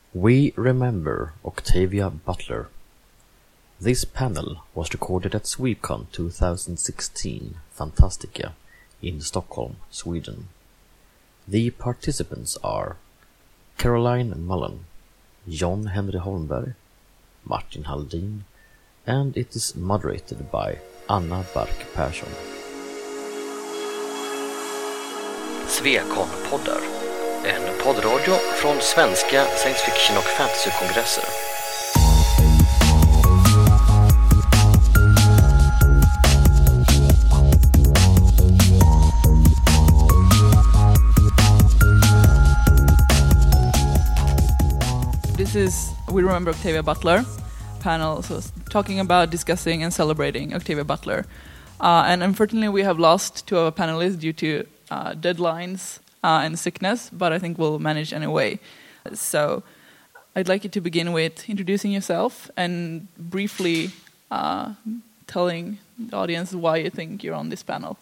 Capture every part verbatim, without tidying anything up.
We remember Octavia Butler. This panel was recorded at Swecon twenty sixteen Fantastica in Stockholm, Sweden. The participants are Caroline Mullen, John Henry Holmberg, Martin Halldin, and it is moderated by Anna Bark Persson. Swecon-poddar, en poddradio från svenska science fiction och fantasy-kongresser. This is We Remember Octavia Butler panel, so talking about, discussing and celebrating Octavia Butler. Uh, and unfortunately we have lost two of our panelists due to uh, deadlines uh, and sickness, but I think we'll manage anyway. So I'd like you to begin with introducing yourself and briefly uh, telling the audience why you think you're on this panel.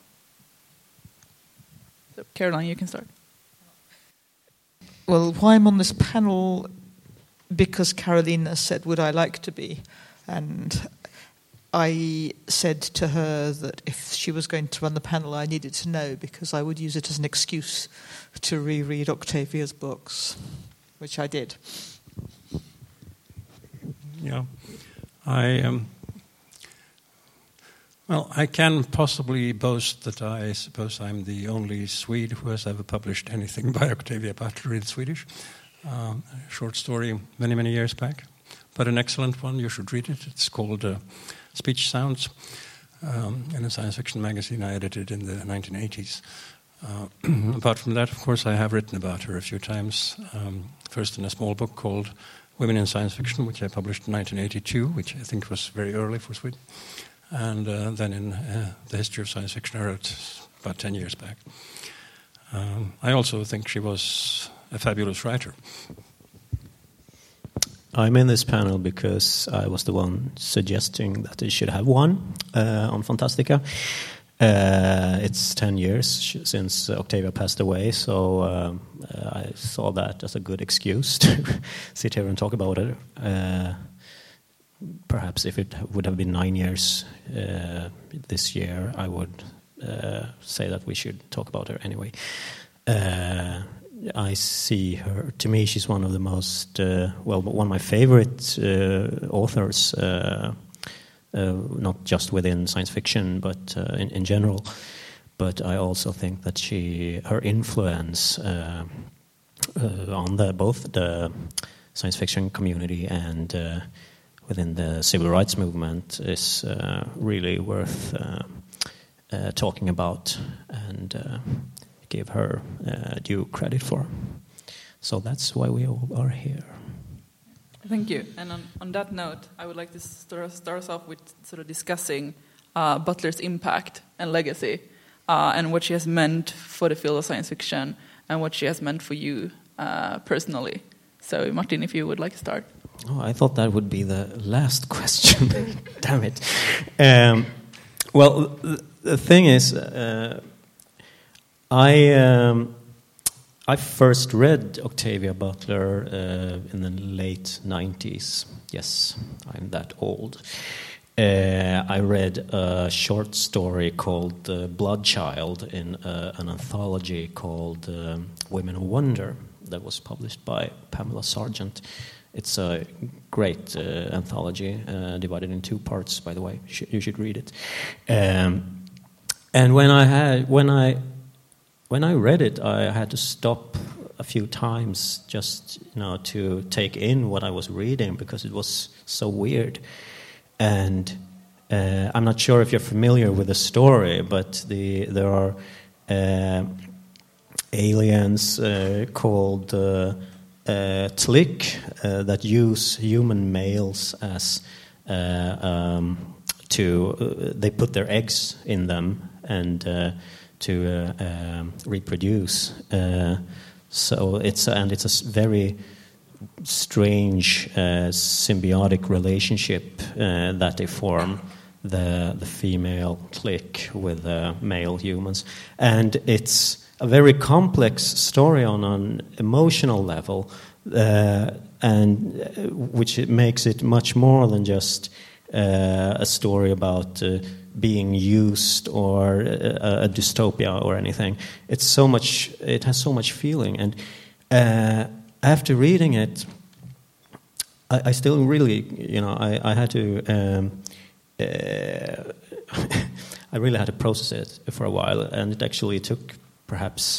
So Caroline, you can start. Well, why I'm on this panel, because Carolina said, would I like to be? And I said to her that if she was going to run the panel, I needed to know, because I would use it as an excuse to reread Octavia's books, which I did. Yeah, I um, well, I can possibly boast that I suppose I'm the only Swede who has ever published anything by Octavia Butler in Swedish. Um, a short story many, many years back, but an excellent one. You should read it. It's called uh, Speech Sounds, um, in a science fiction magazine I edited in the nineteen eighties. Uh, apart from that, of course, I have written about her a few times. Um, first in a small book called Women in Science Fiction, which I published in nineteen eighty-two, which I think was very early for Sweden. And uh, then in uh, The History of Science Fiction, I wrote about ten years back. Um, I also think she was a fabulous writer. I'm in this panel because I was the one suggesting that they should have one uh, on Fantastica. Uh, it's ten years sh- since Octavia passed away, so um, uh, I saw that as a good excuse to sit here and talk about it. Uh, perhaps if it would have been nine years uh, this year, I would uh, say that we should talk about her anyway. Uh, I see her, to me, she's one of the most, uh, well, one of my favorite uh, authors, uh, uh, not just within science fiction, but uh, in, in general. But I also think that she, her influence uh, uh, on the, both the science fiction community and uh, within the civil rights movement is uh, really worth uh, uh, talking about, and uh, give her uh, due credit for. So that's why we all are here. Thank you. And on, on that note, I would like to start, start us off with sort of discussing uh, Butler's impact and legacy, uh, and what she has meant for the field of science fiction, and what she has meant for you uh, personally. So, Martin, if you would like to start. Oh, I thought that would be the last question. Damn it. Um, well, the, the thing is, uh, I um, I first read Octavia Butler uh, in the late nineties. Yes, I'm that old. Uh, I read a short story called uh, Bloodchild in uh, an anthology called um, Women of Wonder that was published by Pamela Sargent. It's a great uh, anthology, uh, divided in two parts, by the way. You should, you should read it. Um, and when I had when I When I read it, I had to stop a few times just, you know, to take in what I was reading, because it was so weird. And uh, I'm not sure if you're familiar with the story, but the there are uh, aliens uh, called uh, uh, Tlik uh, that use human males as uh, um, to uh, they put their eggs in them and. Uh, to uh, um, reproduce. Uh, so it's and it's a very strange uh, symbiotic relationship uh, that they form, the the female clique with the male humans, and it's a very complex story on an emotional level, uh, and uh, which it makes it much more than just uh, a story about uh, being used or a, a dystopia or anything. It's so much. It has so much feeling, and uh, after reading it, I, I still really, you know, I, I had to. Um, uh, I really had to process it for a while, and it actually took perhaps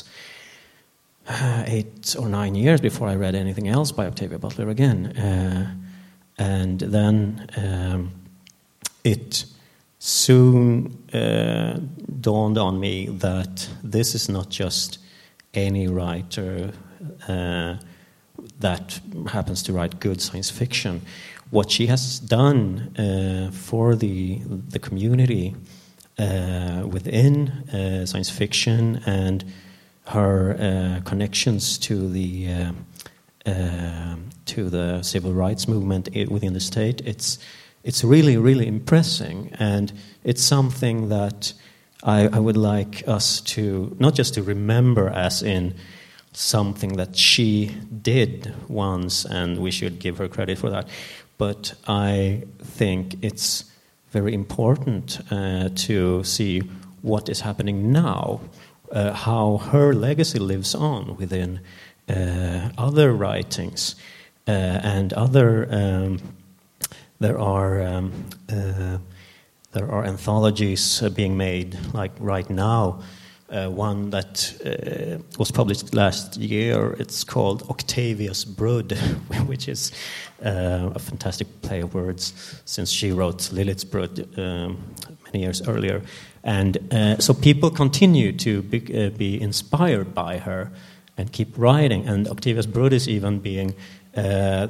uh, eight or nine years before I read anything else by Octavia Butler again. Uh, and then um, it soon uh, dawned on me that this is not just any writer uh, that happens to write good science fiction. What she has done uh, for the the community uh, within uh, science fiction and her uh, connections to the uh, uh, to the civil rights movement within the state, it's it's really really impressive, and it's something that I, I would like us to not just to remember as in something that she did once, and we should give her credit for that. But I think it's very important uh, to see what is happening now, uh, how her legacy lives on within uh, other writings uh, and other. Um, there are um, uh, there are anthologies uh, being made, like right now. Uh, one that uh, was published last year. It's called Octavia's Brood, which is uh, a fantastic play of words, since she wrote Lilith's Brood um, many years earlier. And uh, so people continue to be, uh, be inspired by her and keep writing. And Octavia's Brood is even being uh, uh,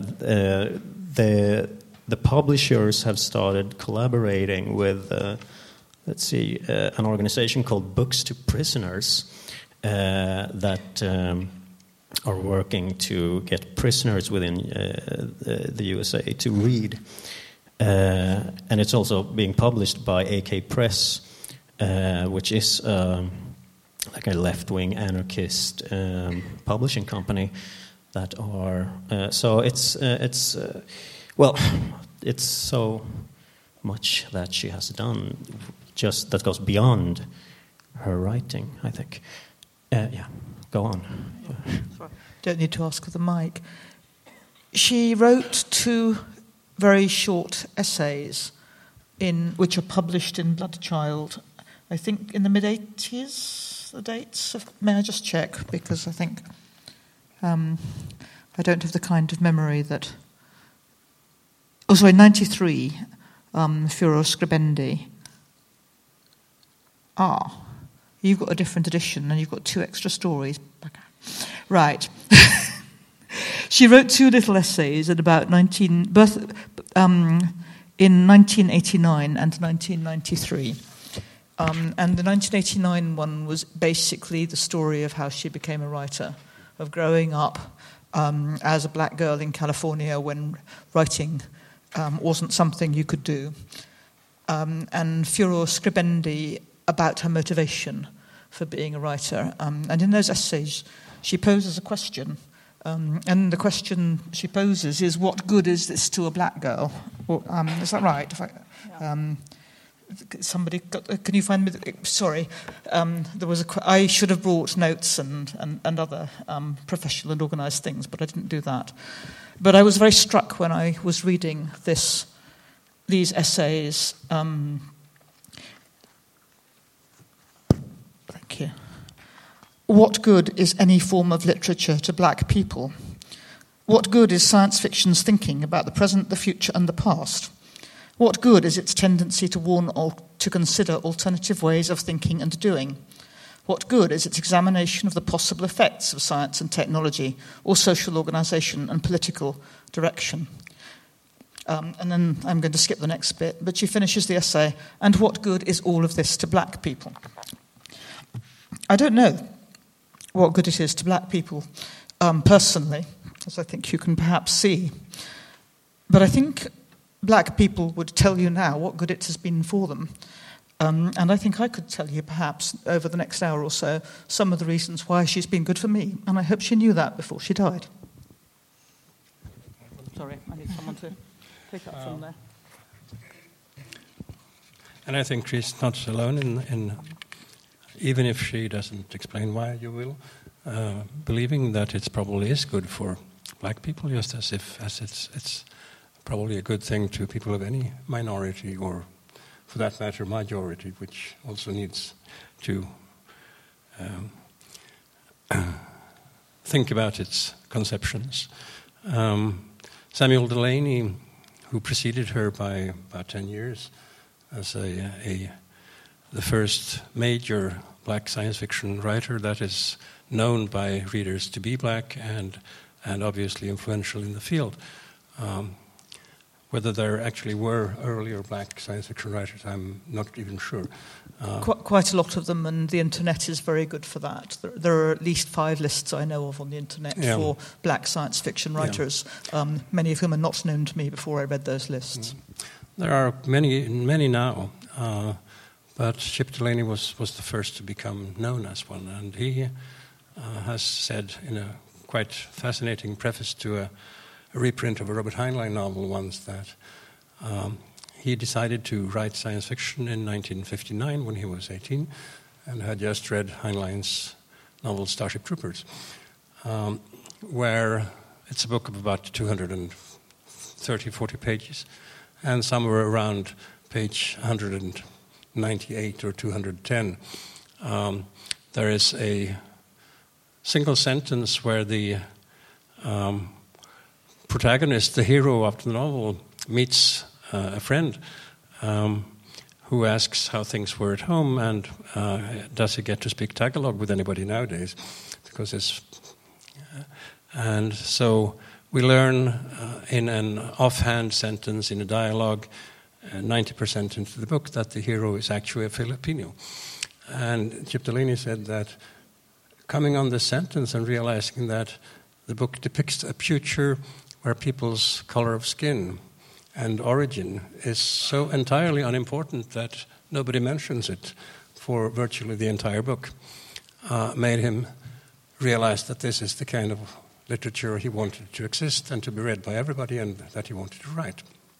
the the publishers have started collaborating with. Uh, Let's see, uh, an organization called Books to Prisoners uh, that um, are working to get prisoners within uh, the, the U S A to read. Uh, and it's also being published by A K Press, uh, which is um, like a left-wing anarchist um, publishing company that are... Uh, so it's, uh, it's uh, well, it's so much that she has done, just that goes beyond her writing, I think. Uh, yeah, go on. Yeah. Sorry. Don't need to ask for the mic. She wrote two very short essays, in which are published in Bloodchild, I think in the mid-eighties, the dates. Of, may I just check, because I think um, I don't have the kind of memory that... Oh, sorry, ninety-three, um, Furor Scribendi. Ah, you've got a different edition and you've got two extra stories. Right. She wrote two little essays at about nineteen, birth, um, in nineteen eighty-nine and nineteen ninety-three. Um, and the nineteen eighty-nine one was basically the story of how she became a writer, of growing up um, as a black girl in California when writing um, wasn't something you could do. Um, and Furor Scribendi, about her motivation for being a writer. Um, and in those essays, she poses a question. Um, and the question she poses is, what good is this to a black girl? Or, um, is that right? If I, um, somebody, got, can you find me? The, sorry, um, there was a. I should have brought notes and and, and other um, professional and organised things, but I didn't do that. But I was very struck when I was reading this, these essays. Um, thank you. What good is any form of literature to black people? What good is science fiction's thinking about the present, the future, and the past? What good is its tendency to warn or to consider alternative ways of thinking and doing? What good is its examination of the possible effects of science and technology, or social organisation and political direction? Um, and then I'm going to skip the next bit, but she finishes the essay, and what good is all of this to black people? I don't know what good it is to black people um, personally, as I think you can perhaps see. But I think black people would tell you now what good it has been for them. Um, and I think I could tell you perhaps over the next hour or so some of the reasons why she's been good for me. And I hope she knew that before she died. Sorry, I need someone to pick up um, from there. And I think she's not alone in, in, even if she doesn't explain why, you will, uh, believing that it probably is good for black people, just as if as it's it's probably a good thing to people of any minority, or for that matter, majority, which also needs to um, think about its conceptions. Um, Samuel Delany, who preceded her by about ten years, as a, a the first major black science fiction writer that is known by readers to be black and and obviously influential in the field. Um, whether there actually were earlier black science fiction writers, I'm not even sure. Uh, Qu- quite a lot of them, and the internet is very good for that. There, there are at least five lists I know of on the internet yeah. for black science fiction writers, yeah. um, many of whom are not known to me before I read those lists. There are many, many now, uh, but Chip Delany was, was the first to become known as one, and he uh, has said in a quite fascinating preface to a, a reprint of a Robert Heinlein novel once that um, he decided to write science fiction in nineteen fifty-nine when he was eighteen and had just read Heinlein's novel Starship Troopers, um, where it's a book of about two hundred thirty, forty pages, and somewhere around page one hundred ninety-eight or two hundred ten, um, there is a single sentence where the um, protagonist, the hero of the novel, meets uh, a friend um, who asks how things were at home and uh, does he get to speak Tagalog with anybody nowadays? Because it's uh, and so we learn uh, in an offhand sentence in a dialogue, uh, ninety percent into the book, that the hero is actually a Filipino. And Chip Delany said that coming on this sentence and realizing that the book depicts a future where people's color of skin and origin is so entirely unimportant that nobody mentions it for virtually the entire book, uh, made him realize that this is the kind of literature he wanted to exist and to be read by everybody, and that he wanted to write.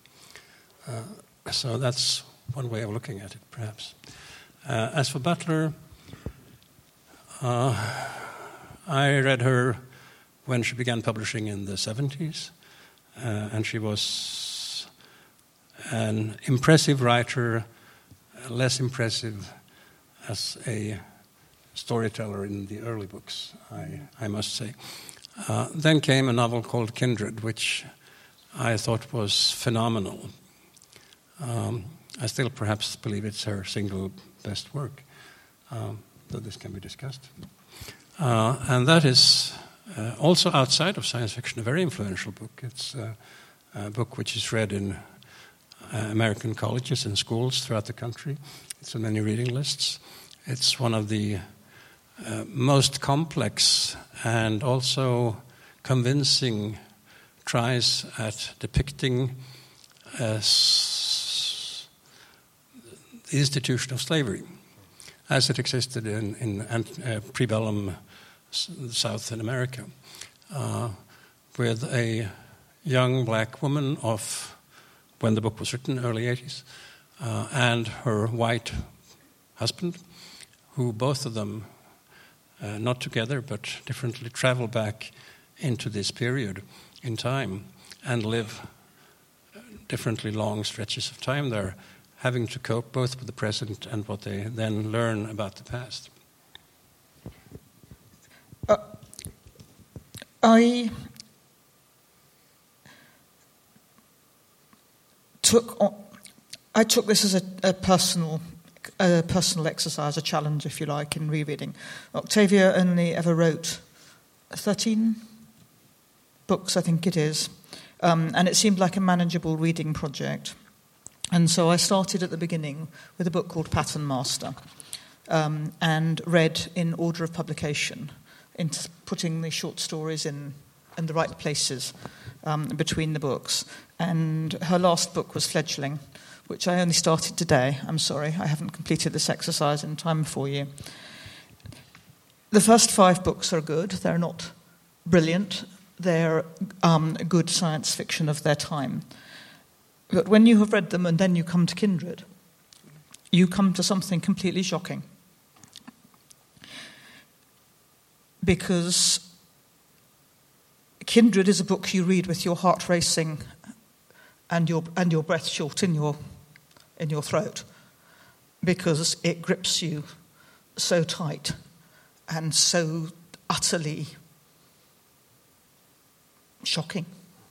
Uh, so that's one way of looking at it, perhaps. Uh, as for Butler, uh, I read her when she began publishing in the seventies, uh, and she was an impressive writer, less impressive as a storyteller in the early books, I, I must say. Uh, then came a novel called Kindred, which I thought was phenomenal. Um, I still perhaps believe it's her single best work, um, though this can be discussed. Uh, and that is uh, also outside of science fiction a very influential book. It's uh, a book which is read in uh, American colleges and schools throughout the country. It's on many reading lists. It's one of the uh, most complex and also convincing tries at depicting uh, s- the institution of slavery as it existed in, in uh, pre-bellum South in America, uh, with a young black woman of, when the book was written, early eighties, uh, and her white husband, who both of them, uh, not together but differently, travel back into this period in time and live differently long stretches of time there, having to cope both with the present and what they then learn about the past. Uh, I took on, I took this as a, a personal a personal exercise, a challenge, if you like, in rereading. Octavia only ever wrote thirteen books, I think it is, um, and it seemed like a manageable reading project. And so I started at the beginning with a book called Pattern Master, um, and read in order of publication, in putting the short stories in, in the right places um, between the books. And her last book was Fledgling, which I only started today. I'm sorry, I haven't completed this exercise in time for you. The first five books are good. They're not brilliant. they're um, good science fiction of their time. But when you have read them and then you come to Kindred, you come to something completely shocking. Because Kindred is a book you read with your heart racing and your and your breath short in your in your throat, because it grips you so tight and so utterly shocking.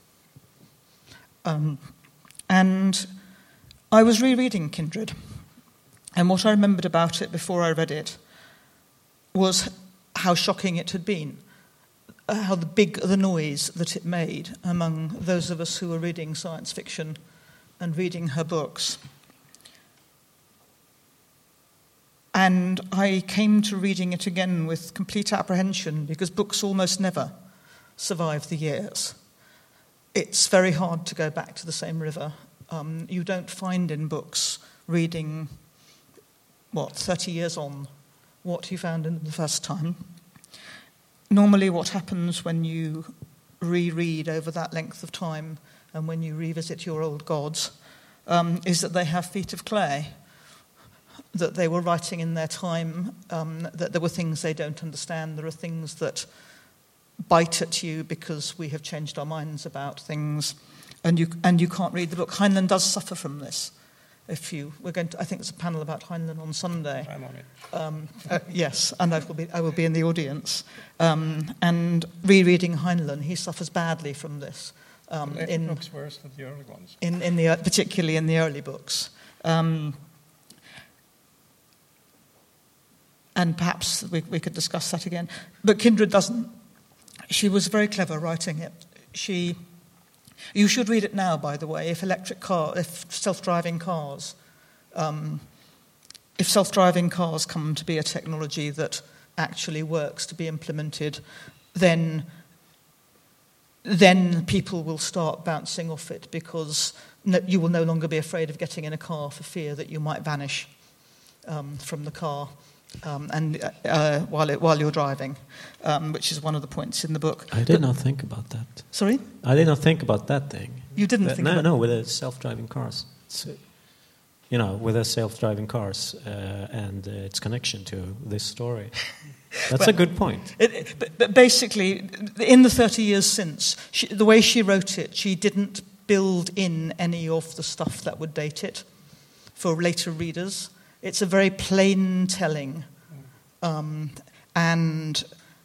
Um, and I was rereading Kindred, and what I remembered about it before I read it was how shocking it had been, how the big the noise that it made among those of us who were reading science fiction and reading her books. And I came to reading it again with complete apprehension, because books almost never survive the years. It's very hard to go back to the same river. Um, you don't find in books, reading, what, thirty years on, what you found in them the first time. Normally what happens when you reread over that length of time and when you revisit your old gods um, is that they have feet of clay, that they were writing in their time, um, that there were things they don't understand, there are things that bite at you because we have changed our minds about things, and you and you can't read the book. Heinlein does suffer from this. If you, we're going to, I think there's a panel about Heinlein on Sunday. I'm on it. Um, uh, yes, and I will be, I will be in the audience. Um, and rereading Heinlein, he suffers badly from this. Um, it in, looks worse than the early ones. In, in the, particularly in the early books. Um, and perhaps we, we could discuss that again. But Kindred doesn't. She was very clever writing it. She... You should read it now, by the way, if electric car, if self-driving cars, um, if self-driving cars come to be a technology that actually works to be implemented, then then people will start bouncing off it, because no, you will no longer be afraid of getting in a car for fear that you might vanish um, from the car. Um, and uh, while it, while you're driving, um, which is one of the points in the book. I did but, not think about that. Sorry? I did not think about that thing. You didn't uh, think no, about No, with the self-driving cars. It's, uh, you know, with the self-driving cars uh, and uh, its connection to this story. That's well, a good point. It, it, but, but basically, in the thirty years since, she, the way she wrote it, she didn't build in any of the stuff that would date it for later readers. It's a very plain telling, um, and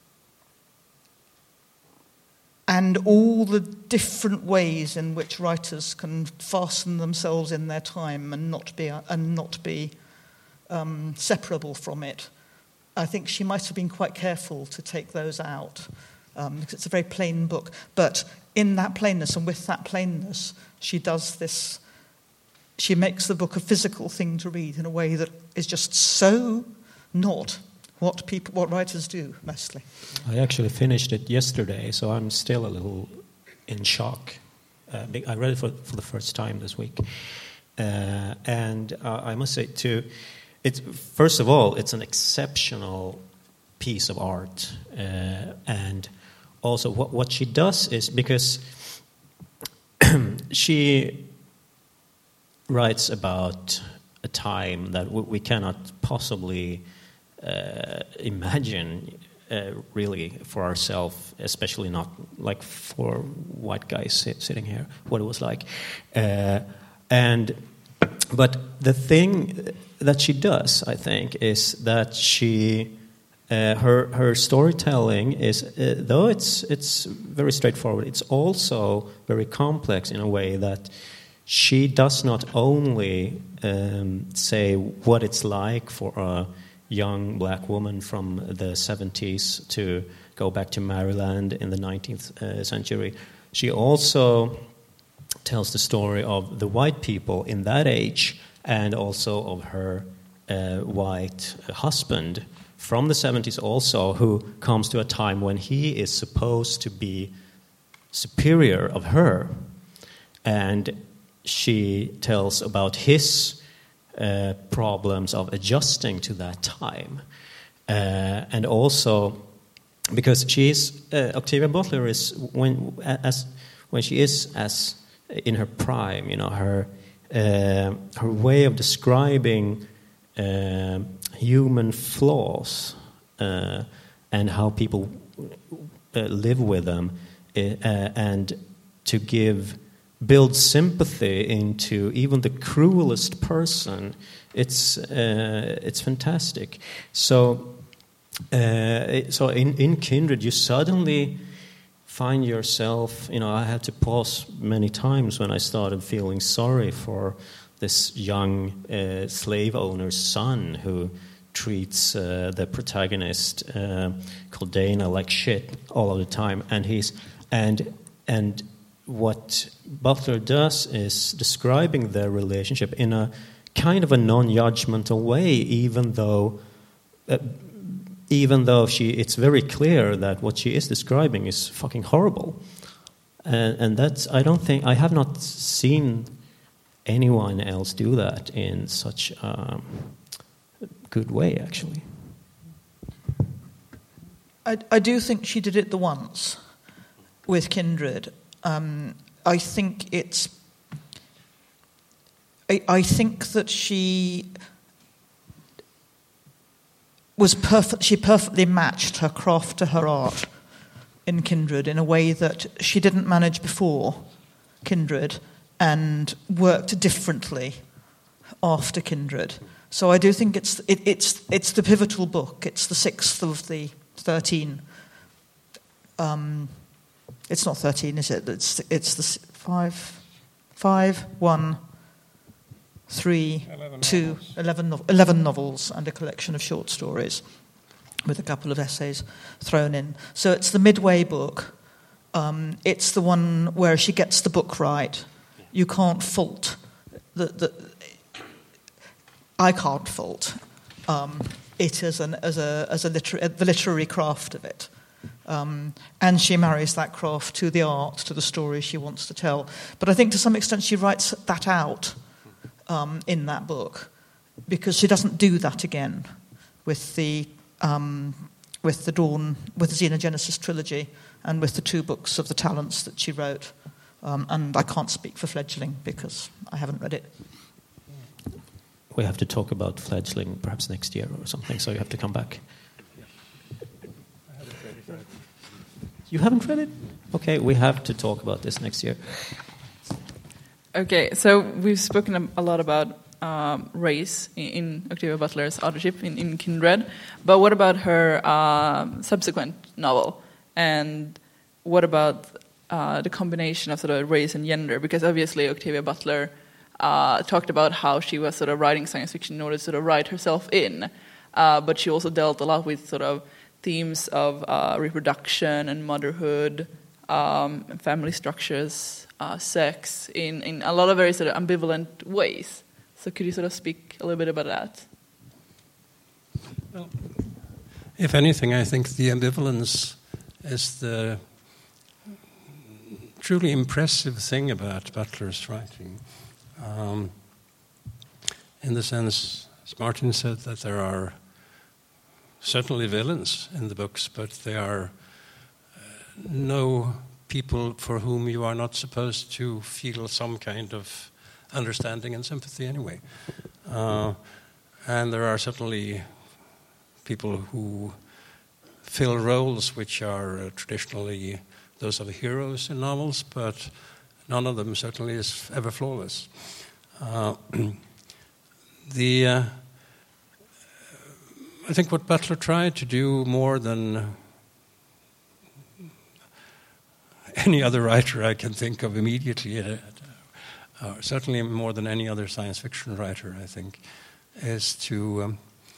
and all the different ways in which writers can fasten themselves in their time and not be and not be um, separable from it. I think she might have been quite careful to take those out, um, because it's a very plain book. But in that plainness and with that plainness, she does this. She makes the book a physical thing to read in a way that is just so not what people, what writers do mostly. I actually finished it yesterday, so I'm still a little in shock. Uh, I read it for, for the first time this week, uh, and uh, I must say too, it's first of all, it's an exceptional piece of art, uh, and also what what she does is, because she writes about a time that w- we cannot possibly uh, imagine uh, really for ourselves, especially not like for white guys sit- sitting here, what it was like. Uh, and but the thing that she does, I think, is that she uh, her her storytelling is, uh, though it's it's very straightforward, it's also very complex in a way that she does not only um, say what it's like for a young black woman from the seventies to go back to Maryland in the nineteenth uh, century. She also tells the story of the white people in that age, and also of her uh, white husband from the seventies also, who comes to a time when he is supposed to be superior of her. And she tells about his uh, problems of adjusting to that time. Uh, and also because she is uh, Octavia Butler is when as when she is as in her prime, you know, her uh, her way of describing uh, human flaws uh, and how people uh, live with them, uh, and to give build sympathy into even the cruelest person. It's uh, it's fantastic. So. Uh, so in, in Kindred, you suddenly find yourself, you know, I had to pause many times when I started feeling sorry for this young uh, slave owner's son who treats uh, the protagonist, uh, called Dana, like shit all of the time. And he's and and what Butler does is describing their relationship in a kind of a non-judgmental way, even though. Uh, Even though she, it's very clear that what she is describing is fucking horrible, and, and that's I don't think I have not seen anyone else do that in such a good way. Actually, I, I do think she did it the once with Kindred. Um, I think it's. I, I think that she. Was perfect. She perfectly matched her craft to her art in Kindred in a way that she didn't manage before Kindred, and worked differently after Kindred. So I do think it's it, it's it's the pivotal book. It's the sixth of the thirteen. Um, it's not thirteen, is it? It's it's the five, five, one. Three, eleven two, novels. Eleven, no- eleven novels and a collection of short stories with a couple of essays thrown in. So it's the midway book. Um, it's the one where she gets the book right. You can't fault. The, the, I can't fault um, it as, an, as, a, as a liter- the literary craft of it. Um, and she marries that craft to the art, to the story she wants to tell. But I think to some extent she writes that out Um, in that book, because she doesn't do that again with the um, with the Dawn, with the Xenogenesis trilogy, and with the two books of the Talents that she wrote. Um, and I can't speak for Fledgling because I haven't read it. We have to talk about Fledgling perhaps next year or something, so you have to come back. You haven't read it? Okay, we have to talk about this next year. Okay, so we've spoken a lot about um, race in, in Octavia Butler's authorship in, in Kindred, but what about her uh, subsequent novel? And what about uh, the combination of sort of race and gender? Because obviously Octavia Butler uh, talked about how she was sort of writing science fiction in order to sort of write herself in, uh, but she also dealt a lot with sort of themes of uh, reproduction and motherhood, um, and family structures, Uh, sex in, in a lot of very sort of ambivalent ways. So could you sort of speak a little bit about that? Well, if anything, I think the ambivalence is the truly impressive thing about Butler's writing. Um, in the sense, as Martin said, that there are certainly villains in the books, but they are uh, no people for whom you are not supposed to feel some kind of understanding and sympathy anyway. Uh, and there are certainly people who fill roles which are uh, traditionally those of heroes in novels, but none of them certainly is ever flawless. Uh, the uh, I think what Butler tried to do more than any other writer I can think of immediately, uh, uh, certainly more than any other science fiction writer, I think, is to um,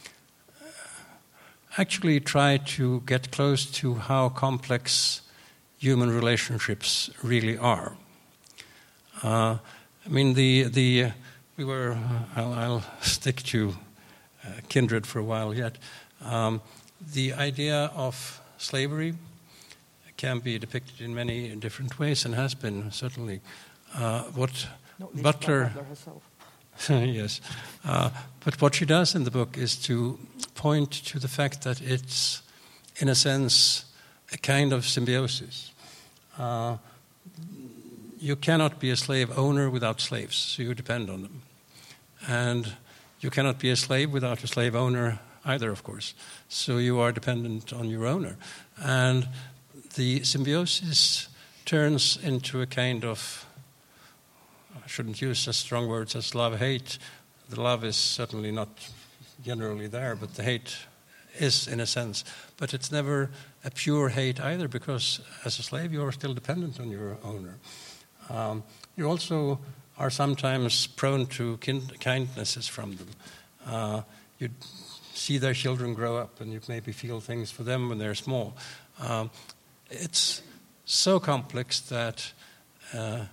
actually try to get close to how complex human relationships really are. Uh, I mean, the the uh, we were. Uh, I'll, I'll stick to uh, Kindred for a while yet. Um, the idea of slavery can be depicted in many different ways and has been, certainly. Uh, what Butler... yes. Uh, but what she does in the book is to point to the fact that it's, in a sense, a kind of symbiosis. Uh, you cannot be a slave owner without slaves, so you depend on them. And you cannot be a slave without a slave owner either, of course. So you are dependent on your owner. And the symbiosis turns into a kind of, I shouldn't use as strong words as love-hate. The love is certainly not generally there, but the hate is in a sense. But it's never a pure hate either, because as a slave you are still dependent on your owner. Um, you also are sometimes prone to kind- kindnesses from them. Uh, you see their children grow up and you maybe feel things for them when they're small. Um, it's so complex that uh,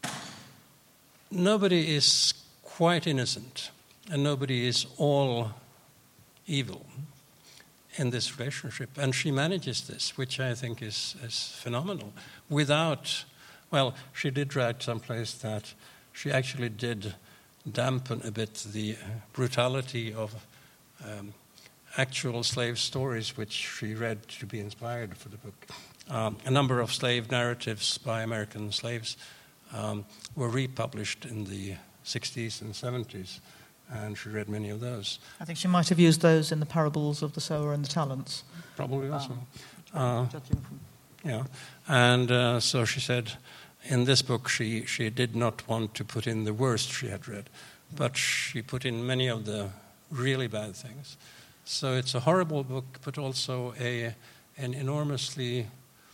nobody is quite innocent and nobody is all evil in this relationship. And she manages this, which I think is, is phenomenal, without, well, she did write someplace that she actually did dampen a bit the brutality of um, actual slave stories, which she read to be inspired for the book. Um, a number of slave narratives by American slaves um, were republished in the sixties and seventies, and she read many of those. I think she might have used those in the parables of the sower and the talents. Probably also. Um, uh, yeah, and uh, so she said in this book she, she did not want to put in the worst she had read, but she put in many of the really bad things. So it's a horrible book, but also a an enormously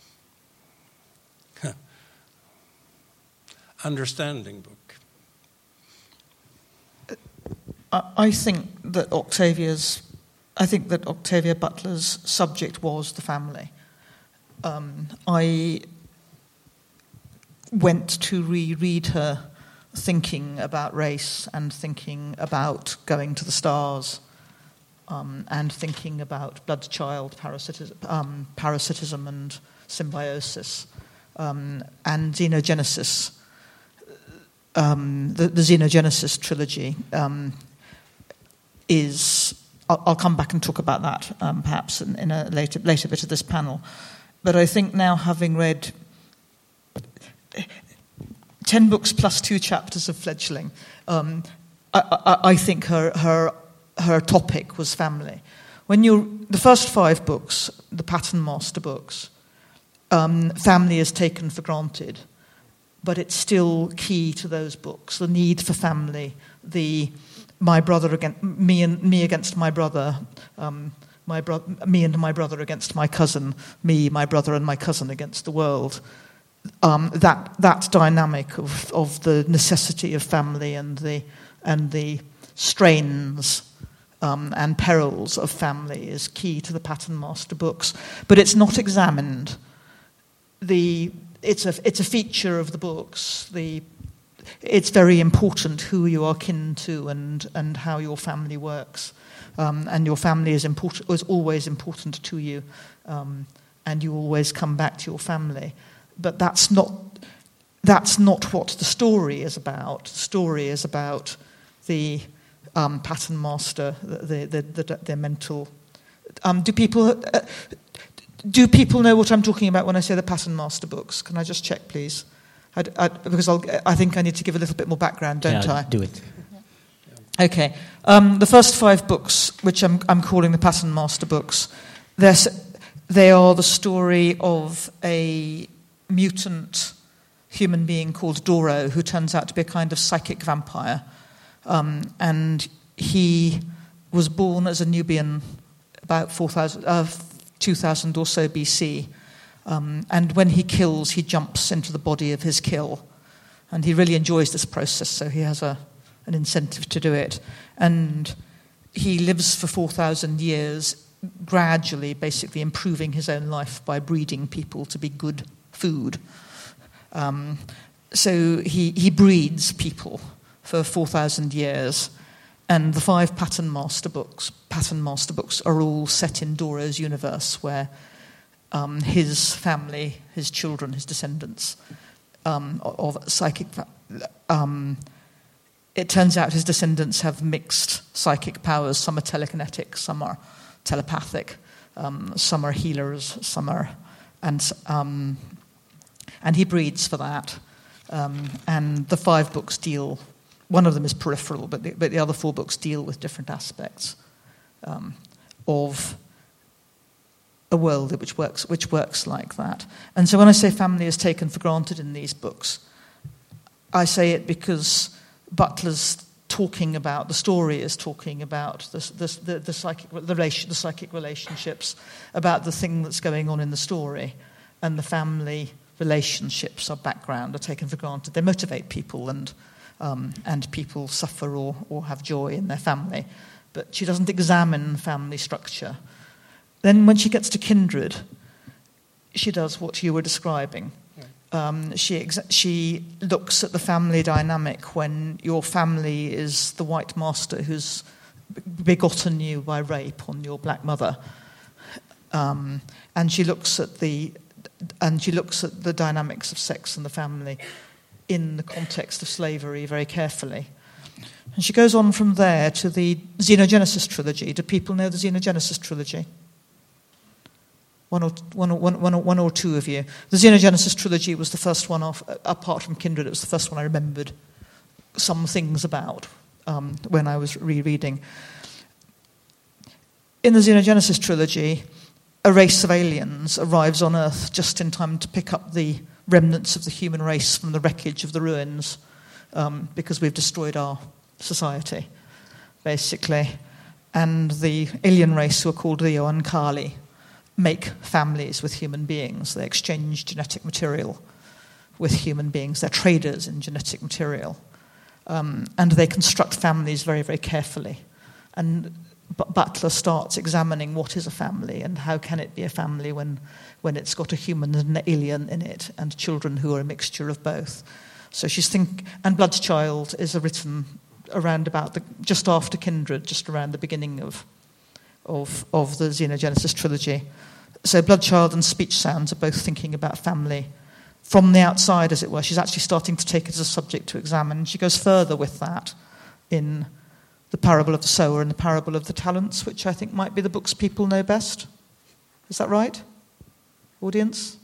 understanding book. I think that Octavia's, I think that Octavia Butler's subject was the family. Um, I went to reread her thinking about race and thinking about going to the stars um, and thinking about blood-child parasitism, um, parasitism and symbiosis um, and xenogenesis. Um, the, the Xenogenesis trilogy um, is... I'll, I'll come back and talk about that um, perhaps in, in a later, later bit of this panel. But I think now, having read ten books plus two chapters of Fledgling, um, I, I, I think her, her, her topic was family. When you the first five books, the Pattern Master books, um, family is taken for granted. But it's still key to those books, the need for family, the my brother against me and me against my brother, um, my bro- me and my brother against my cousin, me, my brother and my cousin against the world. Um, that that dynamic of, of the necessity of family and the and the strains um, and perils of family is key to the Pattern Master books. But it's not examined. The It's a it's a feature of the books. The it's very important who you are kin to and, and how your family works, um, and your family is important is always important to you, um, and you always come back to your family. But that's not that's not what the story is about. The story is about the um, Pattern Master, the the the, the, the mental. Um, do people? Uh, Do people know what I'm talking about when I say the Pattern Master books? Can I just check, please? I, I, because I'll, I think I need to give a little bit more background, don't yeah, I? do it. Okay. Um, the first five books, which I'm, I'm calling the Pattern Master books, they are the story of a mutant human being called Doro, who turns out to be a kind of psychic vampire. Um, and he was born as a Nubian about four thousand... Uh, two thousand or so B C, um, and when he kills, he jumps into the body of his kill, and he really enjoys this process, so he has a, an incentive to do it, and he lives for four thousand years, gradually, basically improving his own life by breeding people to be good food. Um, so he, he breeds people for four thousand years. And the five Pattern Master books, Pattern Master books are all set in Doro's universe, where um, his family, his children, his descendants um, of psychic. Um, it turns out his descendants have mixed psychic powers. Some are telekinetic, some are telepathic, um, some are healers, some are and um, and he breeds for that. Um, and the five books deal. One of them is peripheral, but the, but the other four books deal with different aspects um, of a world which works which works like that. And so when I say family is taken for granted in these books, I say it because Butler's talking about, the story is talking about the, the, the, the, psychic, the, relation, the psychic relationships, about the thing that's going on in the story, and the family relationships are background, are taken for granted. They motivate people, and um, and people suffer or, or have joy in their family. But she doesn't examine family structure. Then when she gets to Kindred, she does what you were describing. Um, she exa- she looks at the family dynamic when your family is the white master who's begotten you by rape on your black mother, um, and she looks at the and she looks at the dynamics of sex and the family in the context of slavery very carefully. And she goes on from there to the Xenogenesis trilogy. Do people know the Xenogenesis trilogy? One or, one, or, one, one, or, one or two of you. The Xenogenesis trilogy was the first one, off, apart from Kindred, it was the first one I remembered some things about um, when I was rereading. In the Xenogenesis trilogy, a race of aliens arrives on Earth just in time to pick up the remnants of the human race from the wreckage of the ruins, um, because we've destroyed our society, basically. And the alien race, who are called the Oankali, make families with human beings. They exchange genetic material with human beings. They're traders in genetic material. Um, and they construct families very, very carefully. And B- Butler starts examining what is a family and how can it be a family when, when it's got a human and an alien in it, and children who are a mixture of both. So she's think, and Bloodchild is written around about the, just after Kindred, just around the beginning of Of, of the Xenogenesis trilogy. So Bloodchild and Speech Sounds are both thinking about family from the outside, as it were. She's actually starting to take it as a subject to examine. She goes further with that in The Parable of the Sower and The Parable of the Talents, which I think might be the books people know best. Is that right, audience?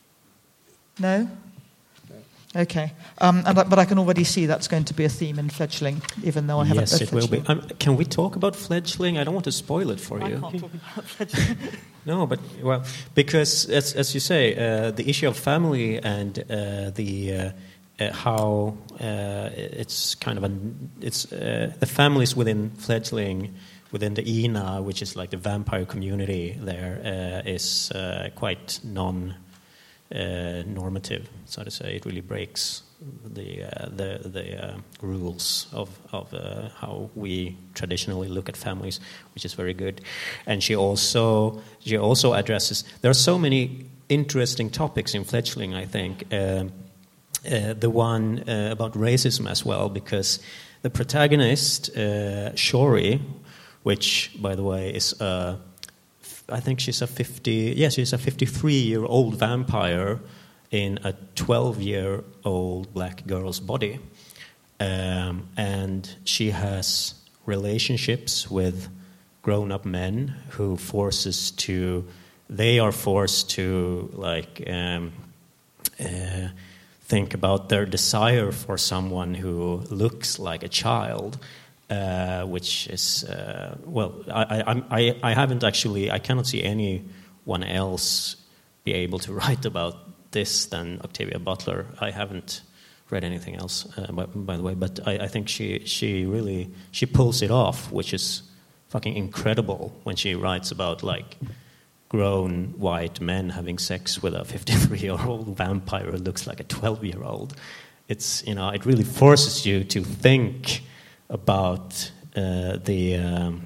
No? Okay, um, and, but I can already see that's going to be a theme in Fledgling, even though I haven't yes, read it will Fledgling. be. Um, can we talk about Fledgling? I don't want to spoil it for I you. can't talk about Fledgling. No, but, well, because, as, as you say, uh, the issue of family and uh, the uh, uh, how uh, it's kind of an, it's uh, the families within Fledgling, within the I N A, which is like the vampire community there, uh, is uh, quite non- Uh, normative, so to say. It really breaks the uh, the the uh, rules of of uh, how we traditionally look at families, which is very good. And she also she also addresses. There are so many interesting topics in Fledgling, I think. Uh, uh, the one uh, about racism as well, because the protagonist uh, Shori, which by the way is a I think she's a fifty. Yes, she's a fifty-three-year-old vampire in a twelve-year-old black girl's body, um, and she has relationships with grown-up men who forces to. They are forced to like um, uh, think about their desire for someone who looks like a child. Uh, which is uh, well, I, I, I, I haven't actually. I cannot see anyone else be able to write about this than Octavia Butler. I haven't read anything else, uh, by, by the way. But I, I think she she really she pulls it off, which is fucking incredible when she writes about like grown white men having sex with a fifty-three-year-old vampire who looks like a twelve-year-old. It's you know it really forces you to think about uh, the um,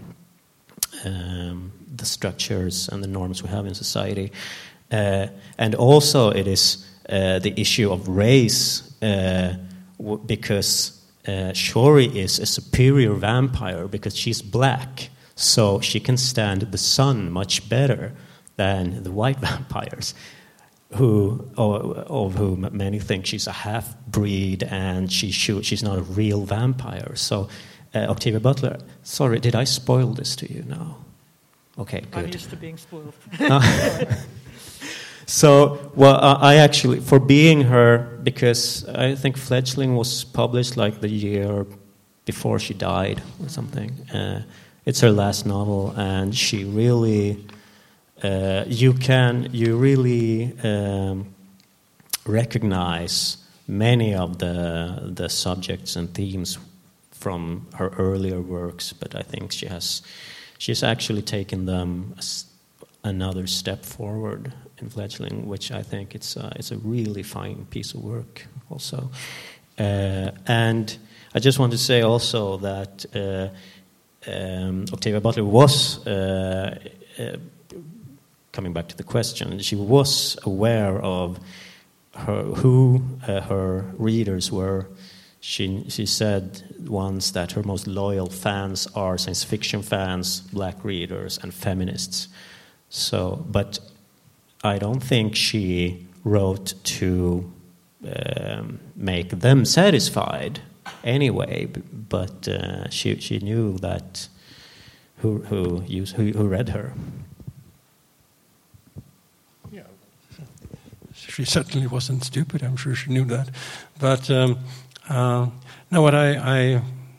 um, the structures and the norms we have in society, uh, and also it is uh, the issue of race, uh, w- because uh, Shori is a superior vampire because she's black, so she can stand the sun much better than the white vampires, who of, of whom many think she's a half-breed and she should, she's not a real vampire. So, uh, Octavia Butler, sorry, did I spoil this to you now? Okay, good. I'm used to being spoiled. So, well, I actually, for being her, because I think Fledgling was published like the year before she died or something. Uh, it's her last novel, and she really, uh, you can, you really um, recognize many of the the subjects and themes from her earlier works, but I think she has, she's actually taken them another step forward in Fledgling, which I think it's a, it's a really fine piece of work also. Uh, and I just want to say also that uh, um, Octavia Butler was, uh, uh, coming back to the question, she was aware of her, who uh, her readers were. She, she said once that her most loyal fans are science fiction fans, black readers, and feminists. So, but I don't think she wrote to um, make them satisfied anyway. But uh, she she knew that who who used, who, who read her. Yeah, she certainly wasn't stupid. I'm sure she knew that. But um, uh, no, what I, I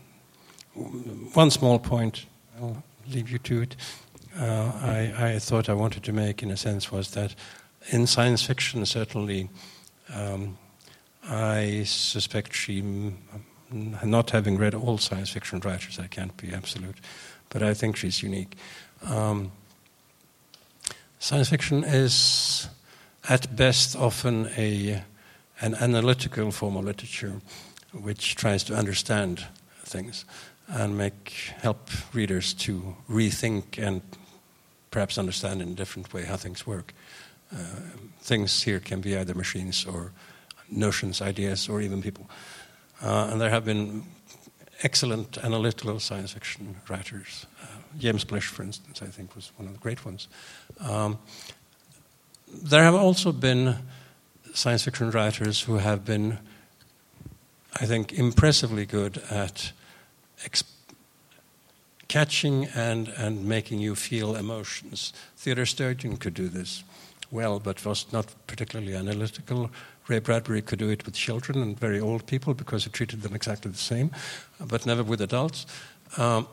one small point, I'll leave you to it. Uh, I, I thought I wanted to make, in a sense, was that in science fiction, certainly, um, I suspect she, not having read all science fiction writers, I can't be absolute, but I think she's unique. Um, science fiction is, at best, often a an analytical form of literature, which tries to understand things and make help readers to rethink and perhaps understand in a different way how things work. Uh, things here can be either machines or notions, ideas, or even people. Uh, and there have been excellent analytical science fiction writers. Uh, James Blish, for instance, I think was one of the great ones. Um, there have also been science fiction writers who have been, I think, impressively good at exp- catching and, and making you feel emotions. Theodore Sturgeon could do this well, but was not particularly analytical. Ray Bradbury could do it with children and very old people because he treated them exactly the same, but never with adults. Um,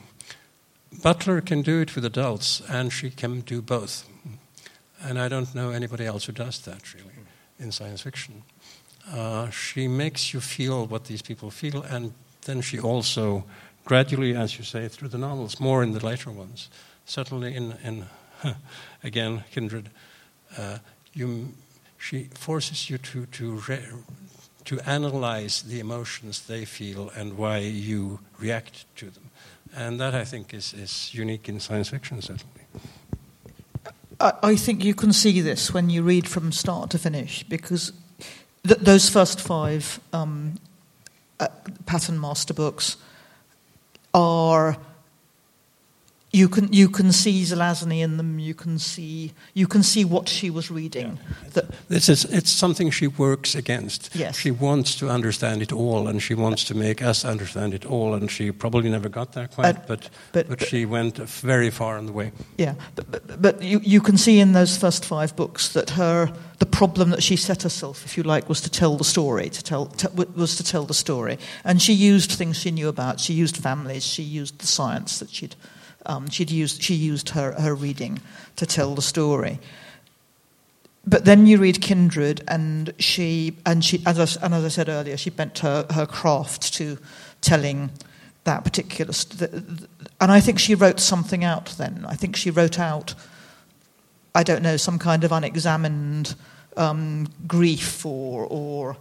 Butler can do it with adults, and she can do both. And I don't know anybody else who does that, really, in science fiction. Uh, she makes you feel what these people feel, and then she also gradually, as you say, through the novels, more in the later ones, certainly in, in again, Kindred, uh, you, she forces you to to re, to analyze the emotions they feel and why you react to them, and that I think is is unique in science fiction, certainly. I, I think you can see this when you read from start to finish, because th- those first five um, uh, Pattern Master books are, you can you can see Zelazny in them. You can see you can see what she was reading. Yeah. That, this is it's something she works against. Yes. She wants to understand it all, and she wants to make us understand it all. And she probably never got there quite, uh, but, but, but but she went very far on the way. Yeah, but, but, but you you can see in those first five books that her the problem that she set herself, if you like, was to tell the story. To tell to, was to tell the story, and she used things she knew about. She used families. She used the science that she'd. Um, she'd used, she used her, her reading to tell the story. But then you read Kindred, and she, and she, as I, and as I said earlier, she bent her, her craft to telling that particular. St- and I think she wrote something out then. I think she wrote out, I don't know, some kind of unexamined um, grief or or.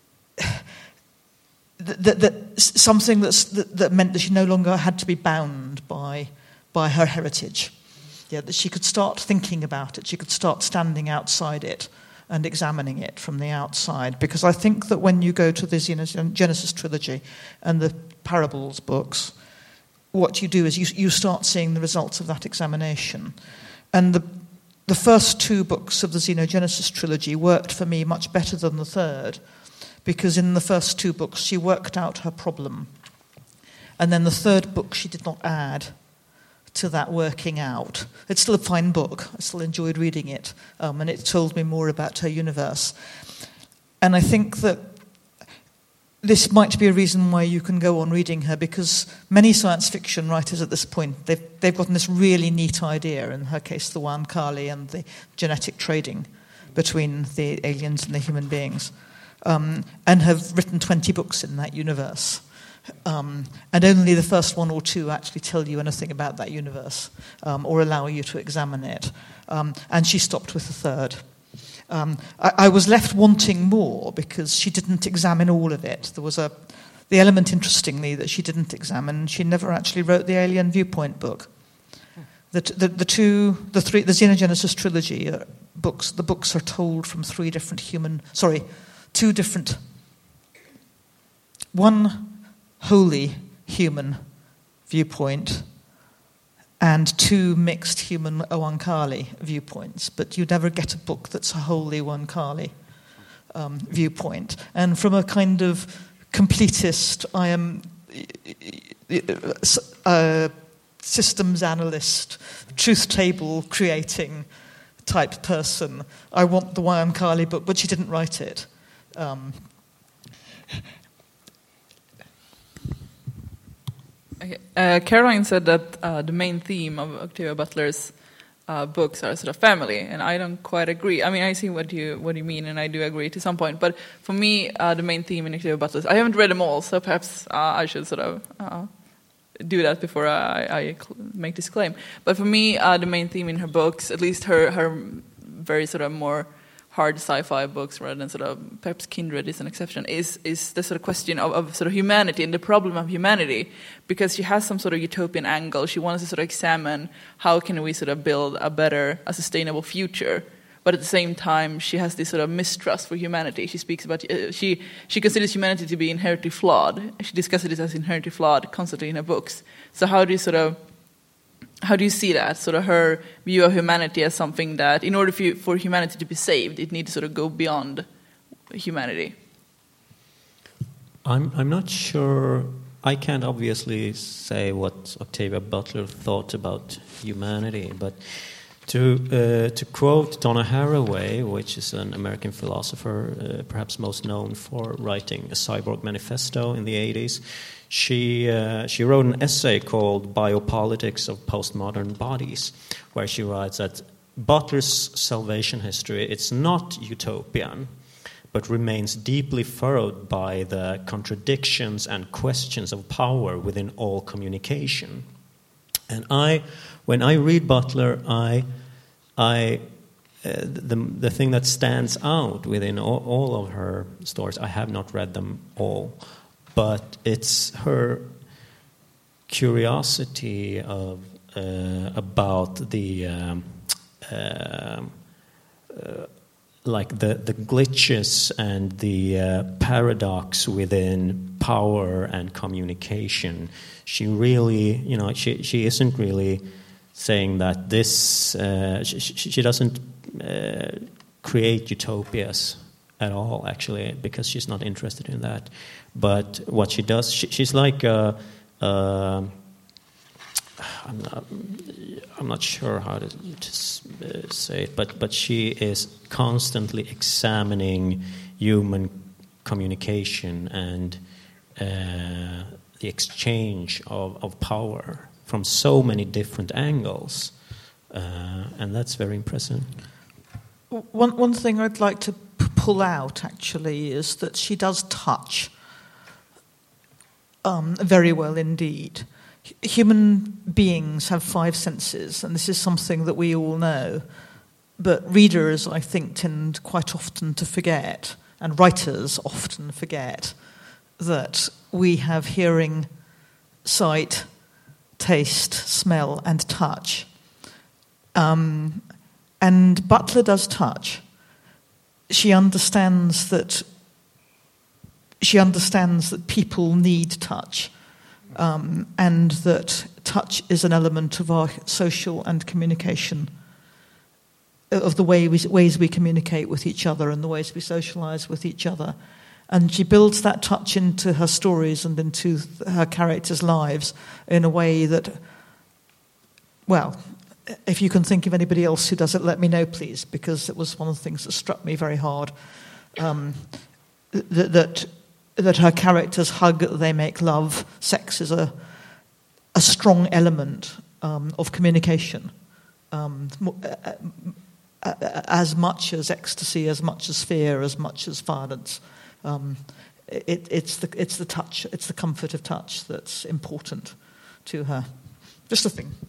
That, that something that's, that, that meant that she no longer had to be bound by by her heritage. Yeah, that she could start thinking about it. She could start standing outside it and examining it from the outside. Because I think that when you go to the Genesis trilogy and the Parables books, what you do is you you start seeing the results of that examination. And the the first two books of the Xenogenesis trilogy worked for me much better than the third, because in the first two books she worked out her problem. And then the third book she did not add to that working out. It's still a fine book. I still enjoyed reading it, um, and it told me more about her universe. And I think that this might be a reason why you can go on reading her, because many science fiction writers at this point, they've, they've gotten this really neat idea, in her case the Wa'Ankali and the genetic trading between the aliens and the human beings, um, and have written twenty books in that universe. Um, and only the first one or two actually tell you anything about that universe, um, or allow you to examine it. Um, and she stopped with the third. Um, I, I was left wanting more because she didn't examine all of it. There was a the element, interestingly, that she didn't examine. She never actually wrote the Alien Viewpoint book. The, the, the two, the three, the Xenogenesis trilogy are books. The books are told from three different human, sorry, two different, one wholly human viewpoint and two mixed human Oankali viewpoints. But you never get a book that's a wholly Oankali um, viewpoint. And from a kind of completist, I am uh, systems analyst, truth table creating type person, I want the Oankali book, but she didn't write it. Um, Okay. Uh, Caroline said that uh, the main theme of Octavia Butler's uh, books are sort of family, and I don't quite agree. I mean, I see what you what you mean, and I do agree to some point. But for me, uh, the main theme in Octavia Butler's, I haven't read them all, so perhaps uh, I should sort of uh, do that before I, I make this claim. But for me, uh, the main theme in her books, at least her her very sort of more hard sci-fi books, rather than sort of perhaps Kindred is an exception, is is the sort of question of, of sort of humanity and the problem of humanity, because she has some sort of utopian angle. She wants to sort of examine how can we sort of build a better, a sustainable future, but at the same time she has this sort of mistrust for humanity. She speaks about uh, she she considers humanity to be inherently flawed. She discusses it as inherently flawed constantly in her books. So how do you sort of How do you see that, sort of her view of humanity as something that, in order for, for humanity to be saved, it needs to sort of go beyond humanity? I'm I'm not sure. I can't obviously say what Octavia Butler thought about humanity, but to uh, to quote Donna Haraway, which is an American philosopher, uh, perhaps most known for writing a Cyborg Manifesto in the eighties. She uh, she wrote an essay called Biopolitics of Postmodern Bodies, where she writes that Butler's salvation history, it's not utopian, but remains deeply furrowed by the contradictions and questions of power within all communication. And I, when I read Butler, I, I, uh, the the thing that stands out within all, all of her stories, I have not read them all, but it's her curiosity of uh, about the um, uh, uh, like the the glitches and the uh, paradox within power and communication. She really, you know, she she isn't really saying that this. Uh, she, she doesn't uh, create utopias at all, actually, because she's not interested in that. But what she does, she, she's like, a, uh, I'm not, I'm not sure how to, to say it, but but she is constantly examining human communication and uh, the exchange of, of power from so many different angles, uh, and that's very impressive. One one thing I'd like to p- pull out actually is that she does touch um, very well indeed. H- human beings have five senses, and this is something that we all know, but readers, I think, tend quite often to forget, and writers often forget, that we have hearing, sight, taste, smell, and touch. Um, and Butler does touch. She understands that she understands that people need touch, um, and that touch is an element of our social and communication, of the way we, ways we communicate with each other and the ways we socialize with each other. And she builds that touch into her stories and into her characters' lives in a way that well, if you can think of anybody else who does it, let me know, please, because it was one of the things that struck me very hard. Um, th- that that her characters hug, they make love. Sex is a a strong element um, of communication, um, as much as ecstasy, as much as fear, as much as violence. Um, it, it's the it's the touch, it's the comfort of touch that's important to her. Just a thing.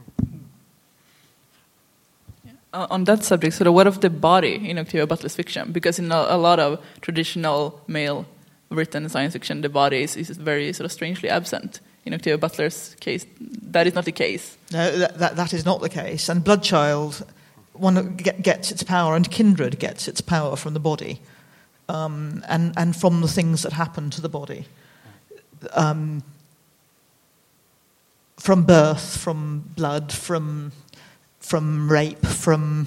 Uh, on that subject, sort of, what of the body in Octavia Butler's fiction? Because in a, a lot of traditional male written science fiction, the body is, is very sort of strangely absent. In Octavia Butler's case, that is not the case. No, that that, that is not the case. And Bloodchild, one get, gets its power, and Kindred gets its power from the body, um, and and from the things that happen to the body, um, from birth, from blood, from from rape, from.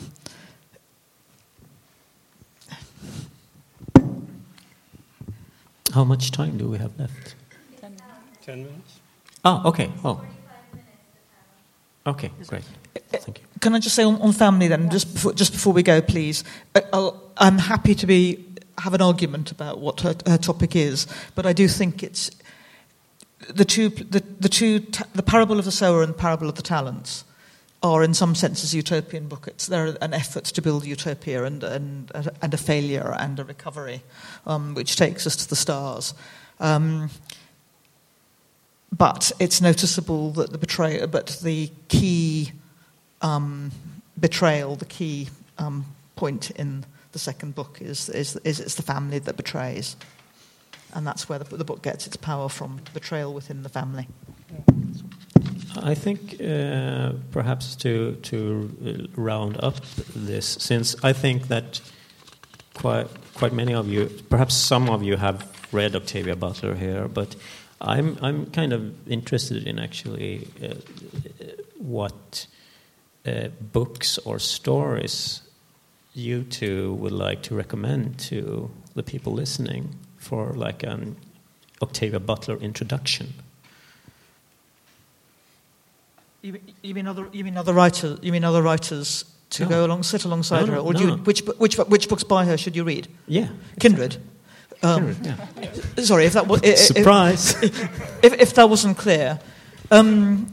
How much time do we have left? Ten minutes. Ah, okay. Oh. Okay, great. Thank you. Can I just say on, on family then, just before, just before we go, please? I'll, I'm happy to be have an argument about what her, her topic is, but I do think it's the two the the two the parable of the sower and the parable of the talents are in some senses utopian books. They're an effort to build utopia and and and a failure and a recovery, um, which takes us to the stars. Um, But it's noticeable that the betrayal, but the key um, betrayal, the key um, point in the second book is, is is it's the family that betrays, and that's where the, the book gets its power from: betrayal within the family. I think uh, perhaps to to round up this, since I think that quite quite many of you, perhaps some of you, have read Octavia Butler here, but. I'm I'm kind of interested in actually uh, what uh, books or stories you two would like to recommend to the people listening for like an Octavia Butler introduction. You, you mean other you mean other writers? You mean other writers to No. go along, sit alongside No, her, or no, do you, no. which which which books by her should you read? Yeah, Kindred. Um, Kindred, yeah. Sorry, if that was if, Surprise. If, if that wasn't clear, um,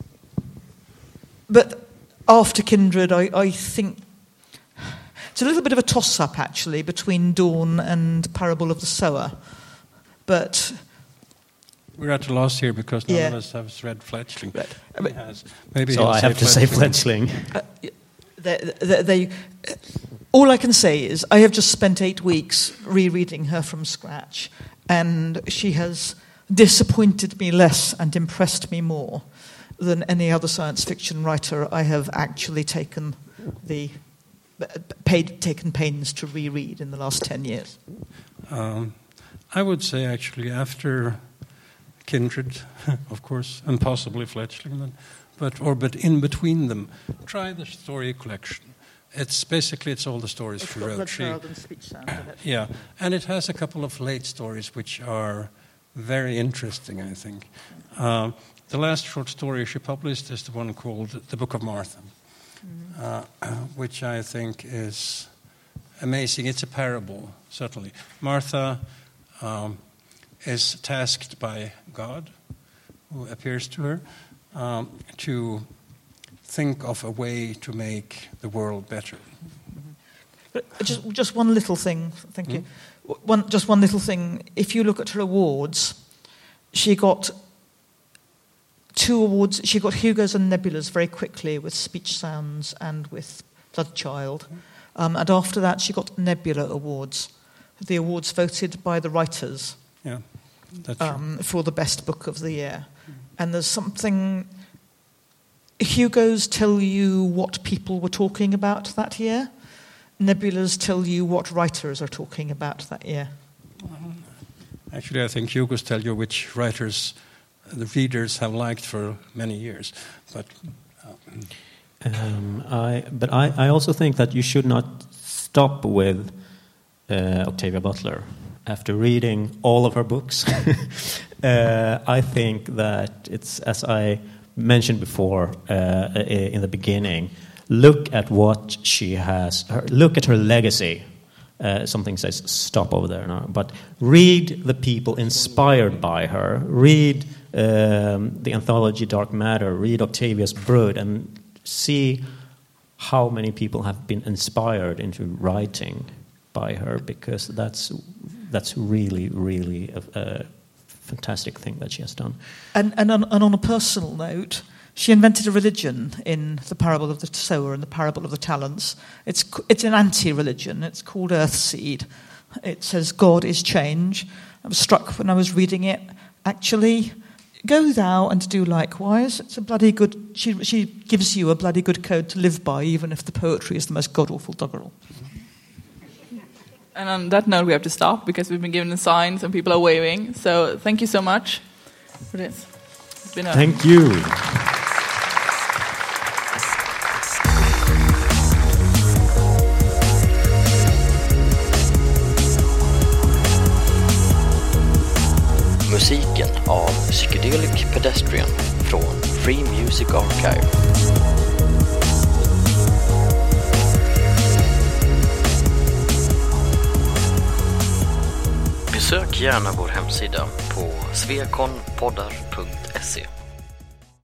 but after Kindred, I, I think it's a little bit of a toss-up actually between Dawn and Parable of the Sower, but we're at a loss here because none Yeah. of us have read Fletchling. Right. He But- has. Maybe So he'll I have to say Fletchling. Uh, they, they, they, all I can say is I have just spent eight weeks rereading her from scratch, and she has disappointed me less and impressed me more than any other science fiction writer I have actually taken the paid taken pains to reread in the last ten years. Um, I would say actually after Kindred, of course, and possibly Fletchling, then, but or but in between them, try the story collection. It's basically it's all the stories she wrote. She, yeah, and it has a couple of late stories which are very interesting, I think. Uh, the last short story she published is the one called The Book of Martha, mm-hmm. uh, which I think is amazing. It's a parable, certainly. Martha um, is tasked by God, who appears to her, um, to think of a way to make the world better. But just, just one little thing, thank you. Mm. One, just one little thing. If you look at her awards, she got two awards. She got Hugo's and Nebula's very quickly with Speech Sounds and with Bloodchild. Um, and after that, she got Nebula awards, the awards voted by the writers. Yeah, that's um, for the best book of the year. Mm. And there's something... Hugo's tell you what people were talking about that year. Nebula's tell you what writers are talking about that year. Actually, I think Hugo's tell you which writers the readers have liked for many years. But uh, um, I, but I, I also think that you should not stop with uh, Octavia Butler. After reading all of her books, uh, I think that it's, as I mentioned before uh, in the beginning, look at what she has, her, look at her legacy. Uh, something says stop over there now, but read the people inspired by her, read um, the anthology Dark Matter, read Octavia's Brood, and see how many people have been inspired into writing by her, because that's that's really, really a, a fantastic thing that she has done. And, and, on, and on a personal note, she invented a religion in the parable of the sower and the parable of the talents. It's it's an anti-religion. It's called Earthseed. It says God is change. I was struck when I was reading it. Actually, go thou and do likewise. It's a bloody good. She she gives you a bloody good code to live by, even if the poetry is the most god-awful doggerel. And on that note, we have to stop because we've been given the signs and people are waving. So thank you so much for this. It's been a Thank you. Musiken av Psychedelic Pedestrian från Free Music Archive. Besök gärna vår hemsida på svekonpoddar punkt se.